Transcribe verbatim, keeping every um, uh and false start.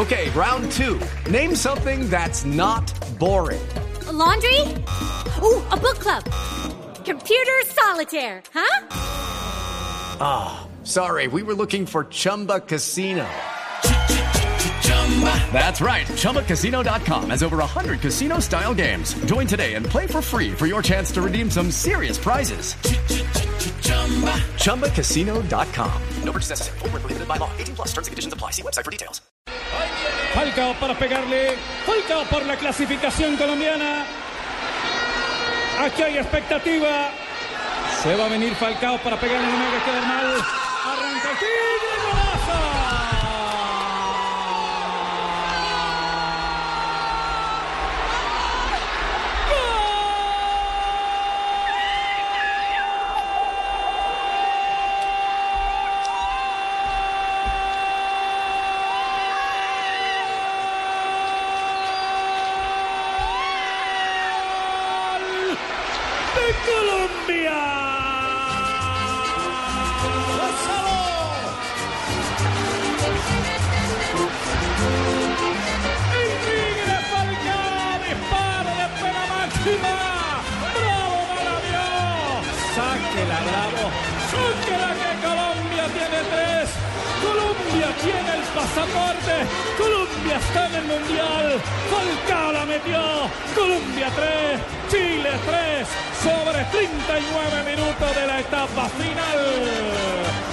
Okay, round two. Name something that's not boring. A laundry? Ooh, a book club. Computer solitaire, huh? Ah, oh, sorry. We were looking for Chumba Casino. That's right. Chumba Casino dot com has over one hundred casino-style games. Join today and play for free for your chance to redeem some serious prizes. Chumba Casino dot com. No purchase necessary. Void where prohibited by law. eighteen plus terms and conditions apply. See website for details. Falcao para pegarle. Falcao por la clasificación colombiana. Aquí hay expectativa. Se va a venir Falcao para pegarle, no me queda mal. Arranca el tiro, golazo. Colombia. El Tigre Falcao, disparo de pena máxima. Bravo, Maravilló. Sáquela, bravo. Sáquela que Colombia tiene tres. Colombia tiene el pasaporte. Colombia está en el Mundial. Falcao la metió. Colombia tres, Chile tres, sobre treinta y nueve minutos de la etapa final.